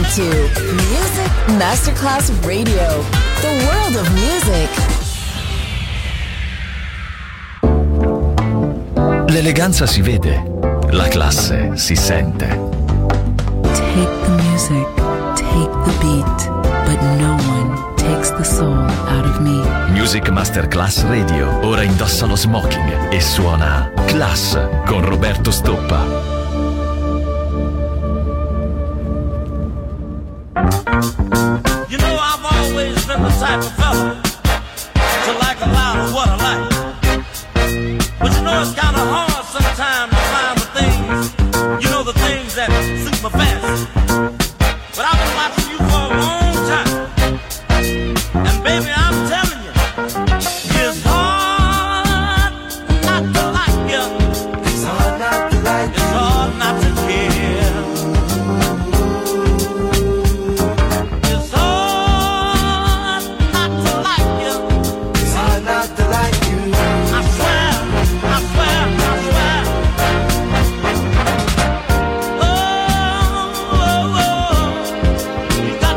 to Music Masterclass Radio, the world of music. L'eleganza si vede, la classe si sente. Take the music, take the beat, but no one takes the soul out of me. Music Masterclass Radio ora indossa lo smoking e suona Class con Roberto Stoppa. You know, I've always been the type of fella to like a lot of what I like. But you know, it's kind of hard sometimes to find the things, you know, the things that suit my fancy. But I've been watching you for a long time. And baby, I'm telling you, it's hard not to like you. It's hard not to like you. It's hard not to care. You got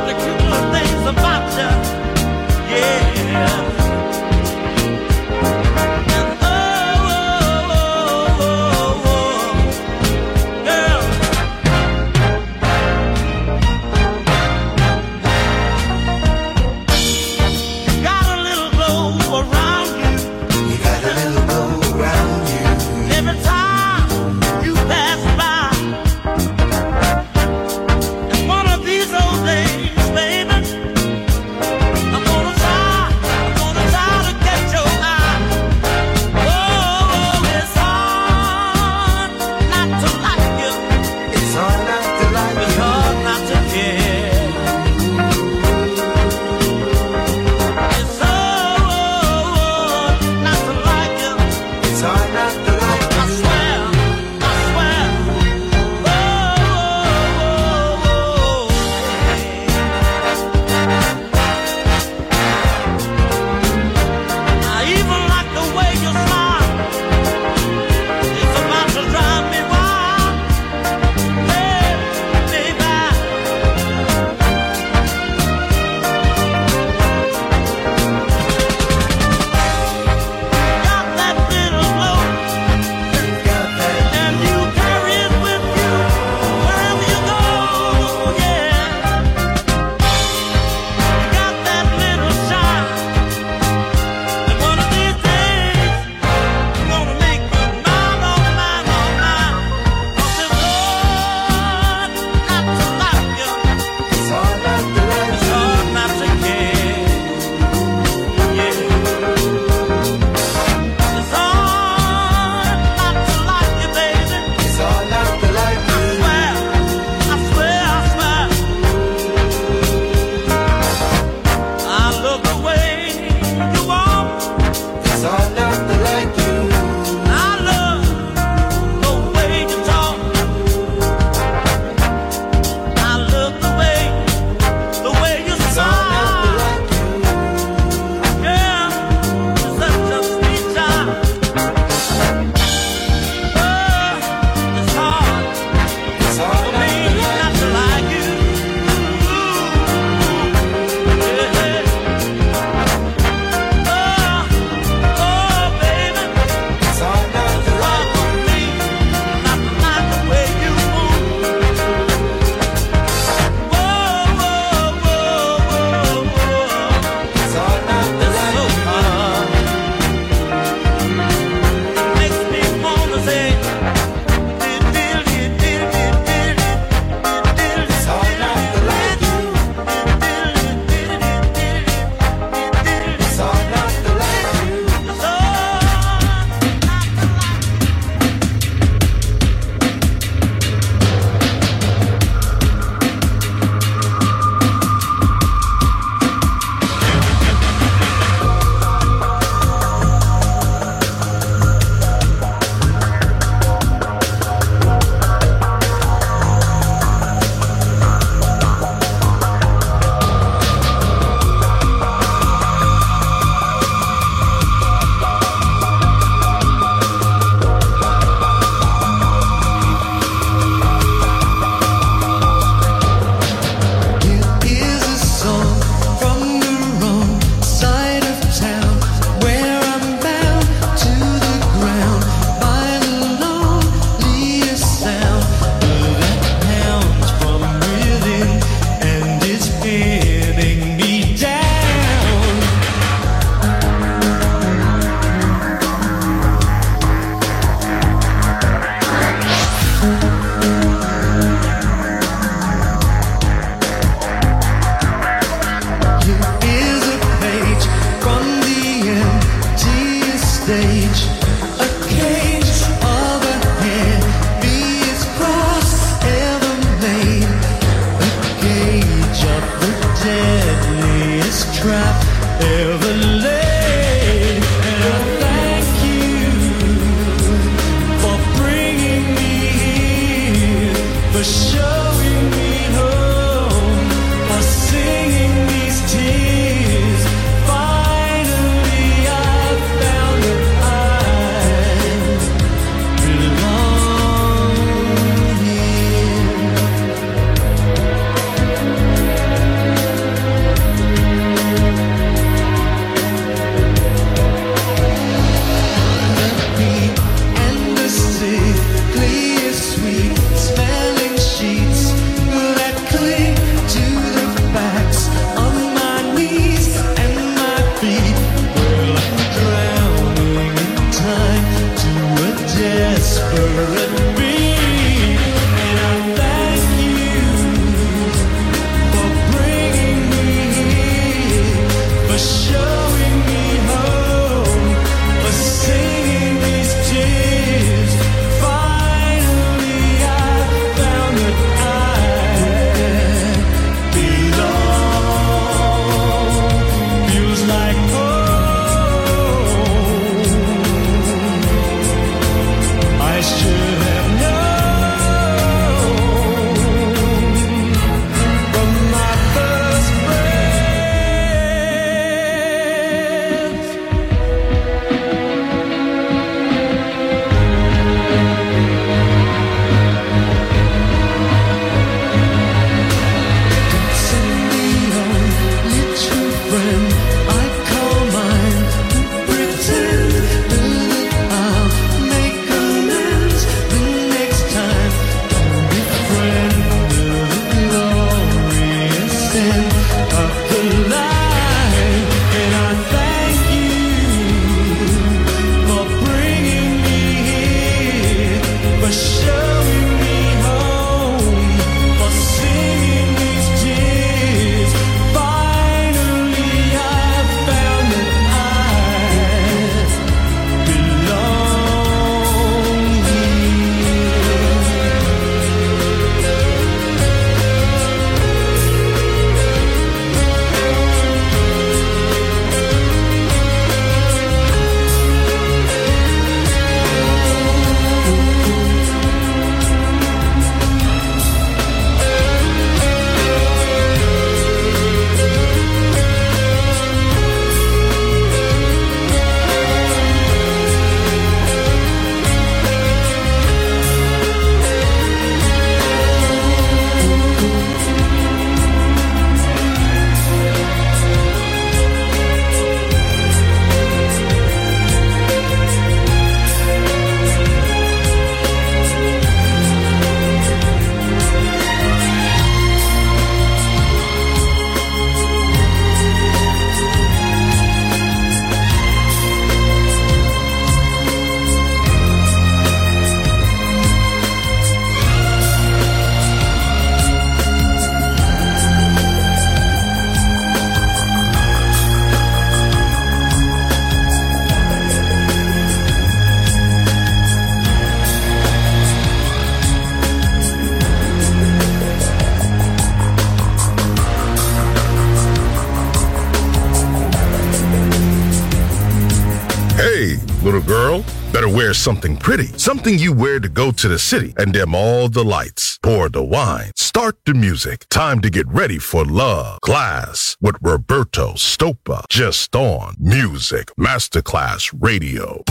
Wear something pretty, something you wear to go to the city, and dim all the lights. Pour the wine. Start the music. Time to get ready for love. Class with Roberto Stoppa. Just on Music Masterclass Radio.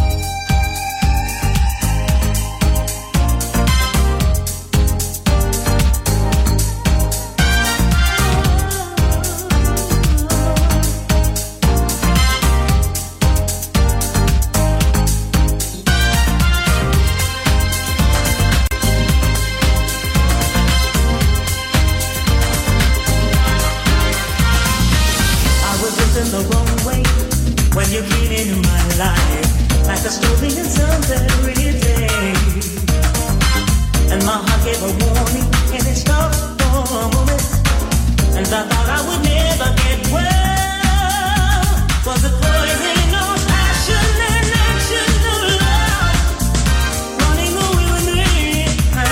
The wrong way when you came into my life, like a story in some fairy day. And my heart gave a warning, and it stopped for a moment. And I thought I would never get well. Was it poison or passion and action of love running away with me?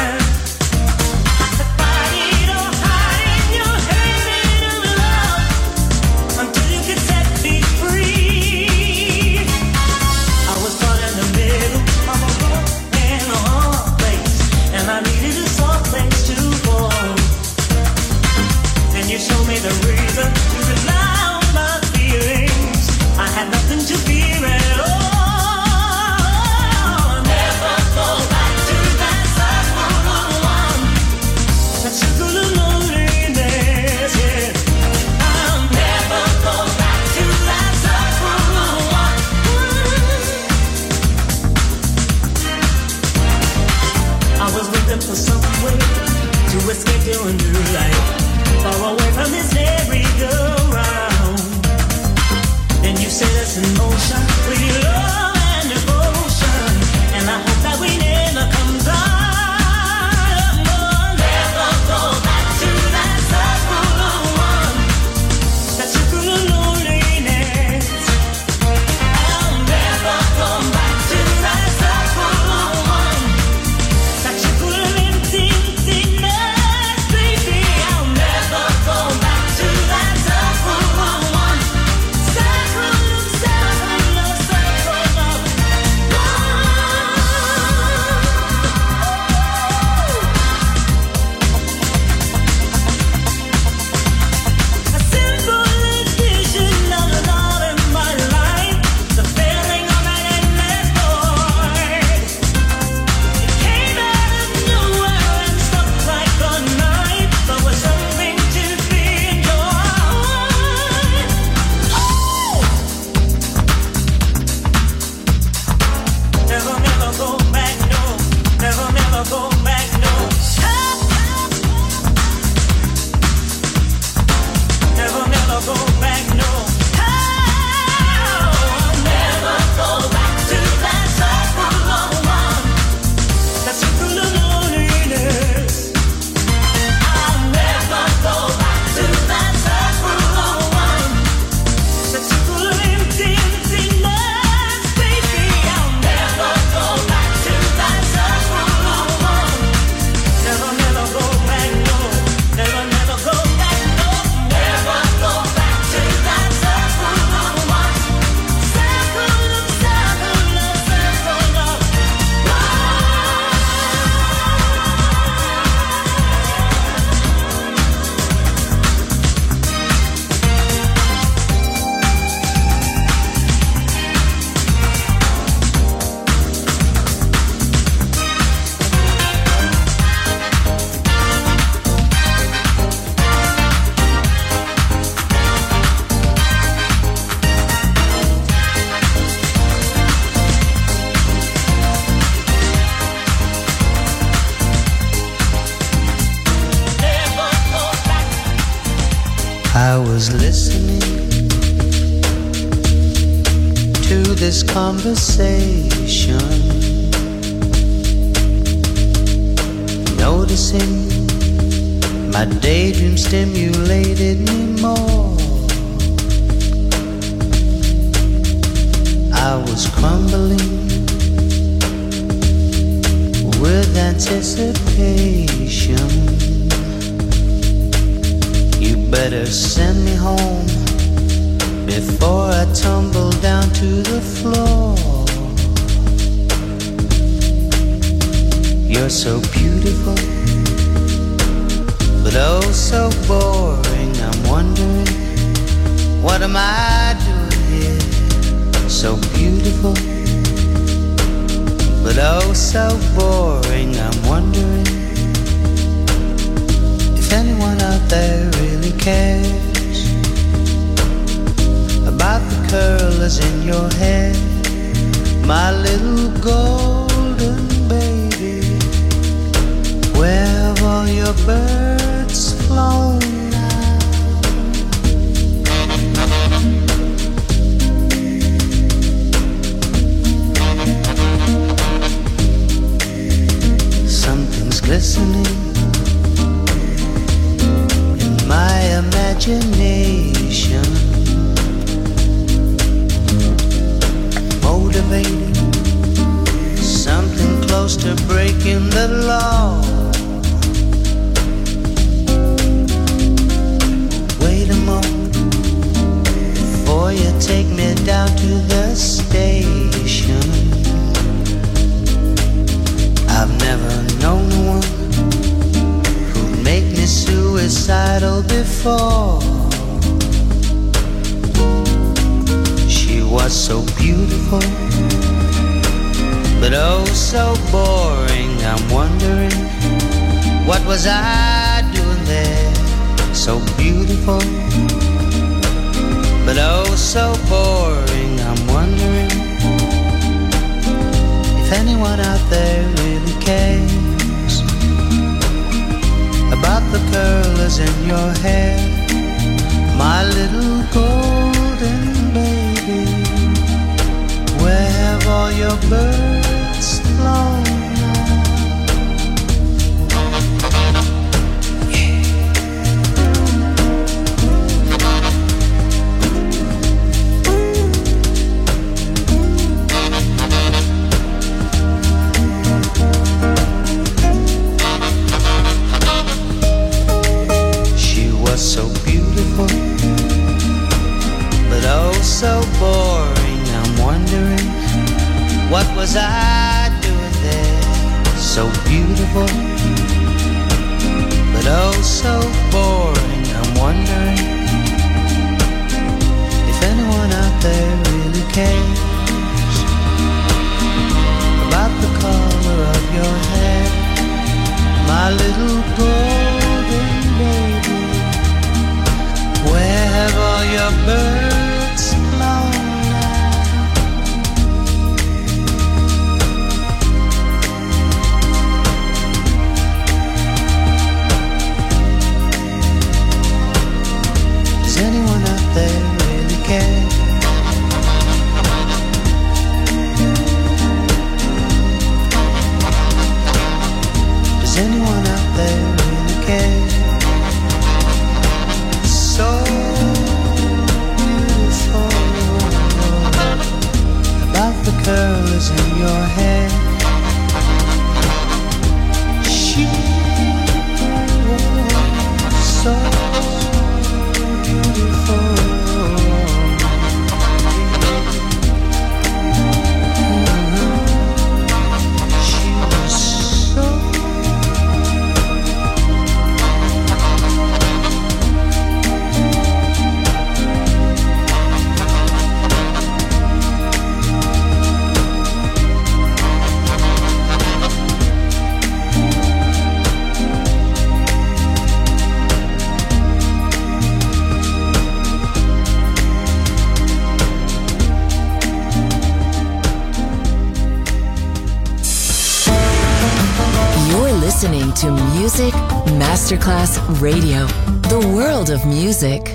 I could fight it or hide in your hand of love until you could set me free. I was caught in the middle of a rock and a hard place, and I needed a soft place to fall. And you showed me the reason to rely on my feelings. I had nothing to fear at all. Never go back to that circle of one, that circle of loneliness, yeah. I'll never go back to that circle of one. I was looking for some way to escape to a new life, far away from this merry-go-round. Then you set us in motion with your love and devotion, and I hope that we never come down. Never go back to that circle of one, that circle of loneliness. I'll never go back to that circle of one, that circle of emptiness, baby. I'll never go back to that circle of one, circle of, circle of, circle of one. A simple vision of the love in my life, the feeling of an endless void. It came out of nowhere and struck like a knife, but was something to be enjoyed. Never, never go back, no. Never, never go back, no. Never, never go back, no. I'll never go back to that circle of one, that circle of loneliness. I'll never go back to that circle of one, that circle of emptiness, baby. I'll never go back to that circle of one. Never, never go back, no. Never, never go back, no. Never go back to that circle of one. Circle of, circle of, circle of one. Never go back. I was listening to this conversation, noticing my daydream stimulated me more. I was crumbling with anticipation. You better send me home before I tumble down to the floor. You're so beautiful, but oh so boring. I'm wondering, what am I doing here? So beautiful, but oh so boring. I'm wondering if anyone out there really cares about the curlers in your hair, my little golden baby. Where have all your birds flown now? Something's glistening in my imagination, motivating something close to breaking the law. Wait a moment before you take me down to the station. I've never known one who'd make me suicidal before. She was so beautiful, but oh so boring. I'm wondering, what was I doing there? So beautiful, but oh so boring. I'm wondering if anyone out there really cares about the curlers in your hair, my little golden baby. Where have all your birds flown now? She was so beautiful, but oh so boring. I'm wondering, what was I doing there? So beautiful, but oh so boring. I'm wondering if anyone out there really cares about the color of your hair, my little golden baby. Where have all your birds flown? Does anyone out there really care? Does anyone out there really care? So beautiful, about the curls in your hair. She was so beautiful. She was so listening to Music Masterclass Radio, the world of music.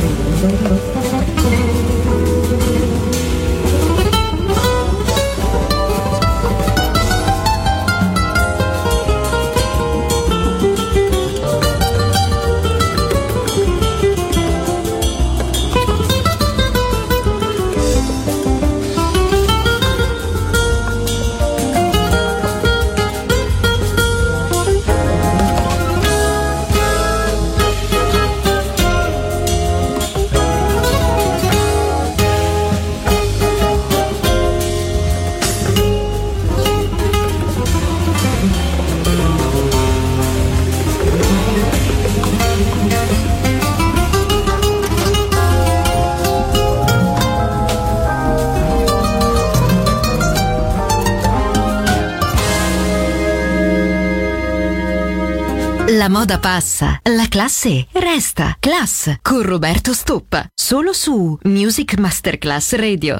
La moda passa, la classe resta. Class con Roberto Stoppa, solo su Music Masterclass Radio.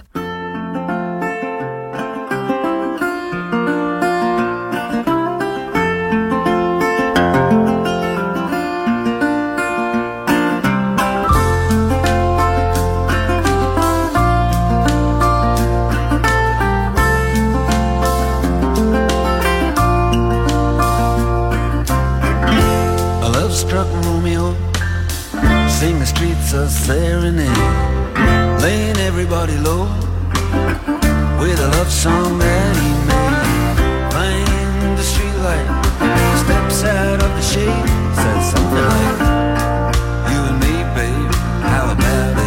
Serenade, laying everybody low with a love song that he made. Find the streetlight, steps out of the shade, says something like, "You and me, babe, how about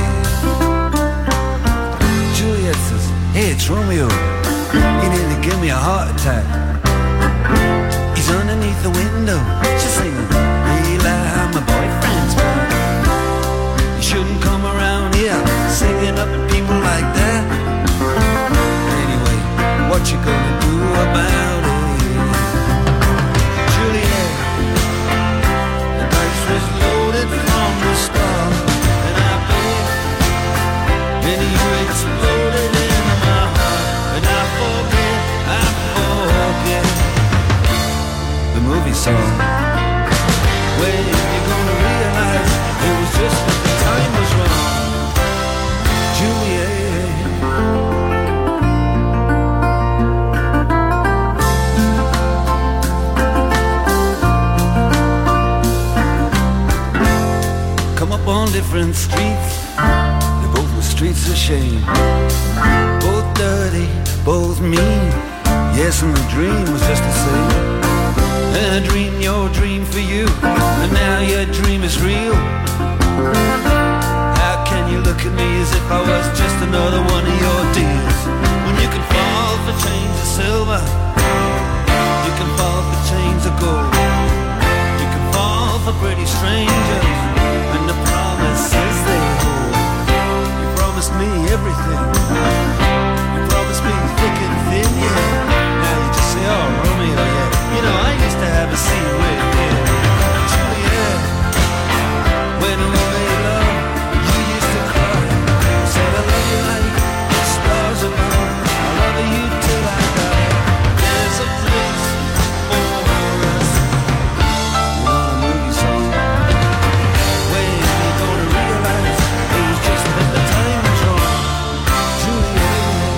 it?" Juliet says, "Hey, it's Romeo. You nearly give me a heart attack." He's underneath the window, she's singing, "Hey, I'm my boyfriend's back. Shouldn't come around here singing up at people like that. Anyway, what you gonna do about it?" Juliet, the dice was loaded from the start, and I bet, and you exploded into my heart, and I forget the movie song. When you gonna realize it was just that the time was wrong, Juliet. Come up on different streets, they both were streets of shame. Both dirty, both mean, yes, and the dream was just the same. And I dreamed your dream for you, and now your dream is real. How can you look at me as if I was just another one of your deals? When you can fall for chains of silver, you can fall for chains of gold, you can fall for pretty strangers, and the promises they hold. You promised me everything, you promised me thick and thin, yeah. Now you just say, "Oh, Romeo, yeah, you know, I used to have a scene with you, Juliet. When we made love, you used to cry. Said I love you like the stars above. I love you till I die. There's a place for us." You know the movie song. When you gonna realize it was just that the time was wrong, Juliet.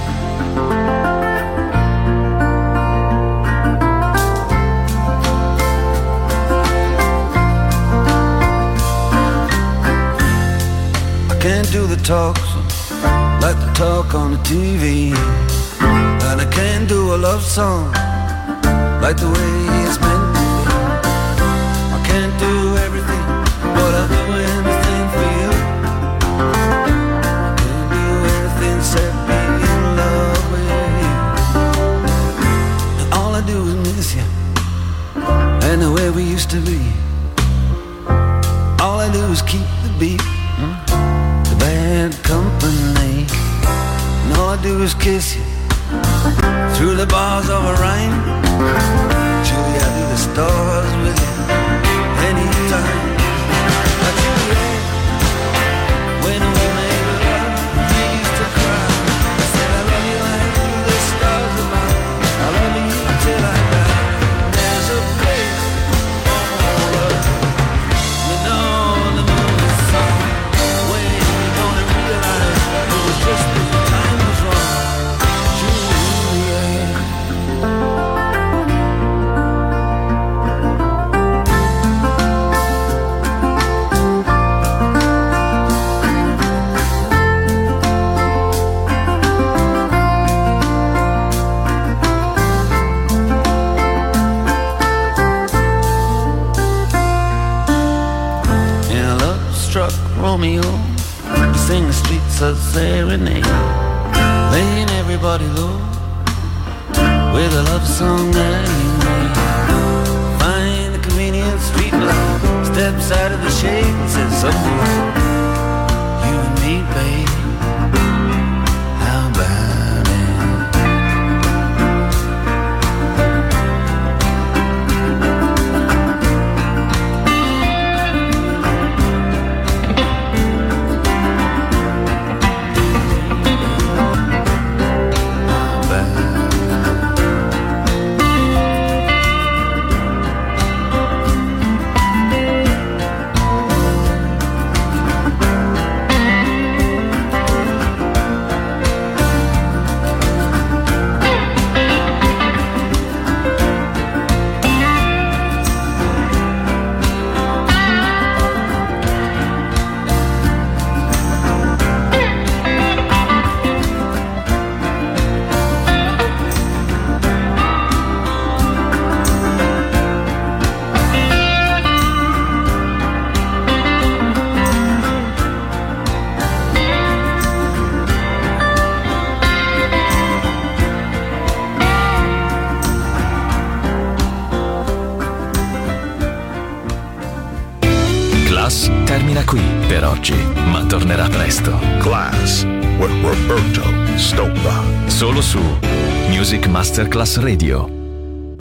Can't do the talks like the talk on the TV, and I can't do a love song like the way it's meant to be. I can't do everything, but I'll do anything for you. I can't do everything except be in love with you. And all I do is miss you, and the way we used to be. All I do is keep the beat, bad company, and all I do is kiss you through the bars of a rhyme. Julie, I do the stars with you anytime. Julie, when we made love, you used to cry. I said I love you like the stars above. I love you till I die. There's a place for all of us. You know the movie song. struck Romeo, we sing the streets a serenade, laying everybody low with a love song that he made. Find the convenient street light, steps out of the shade and says, someday, you and me, babe, how about it? Termina qui per oggi, ma tornerà presto. Class with Roberto Stoppa. Solo su Music Masterclass Radio.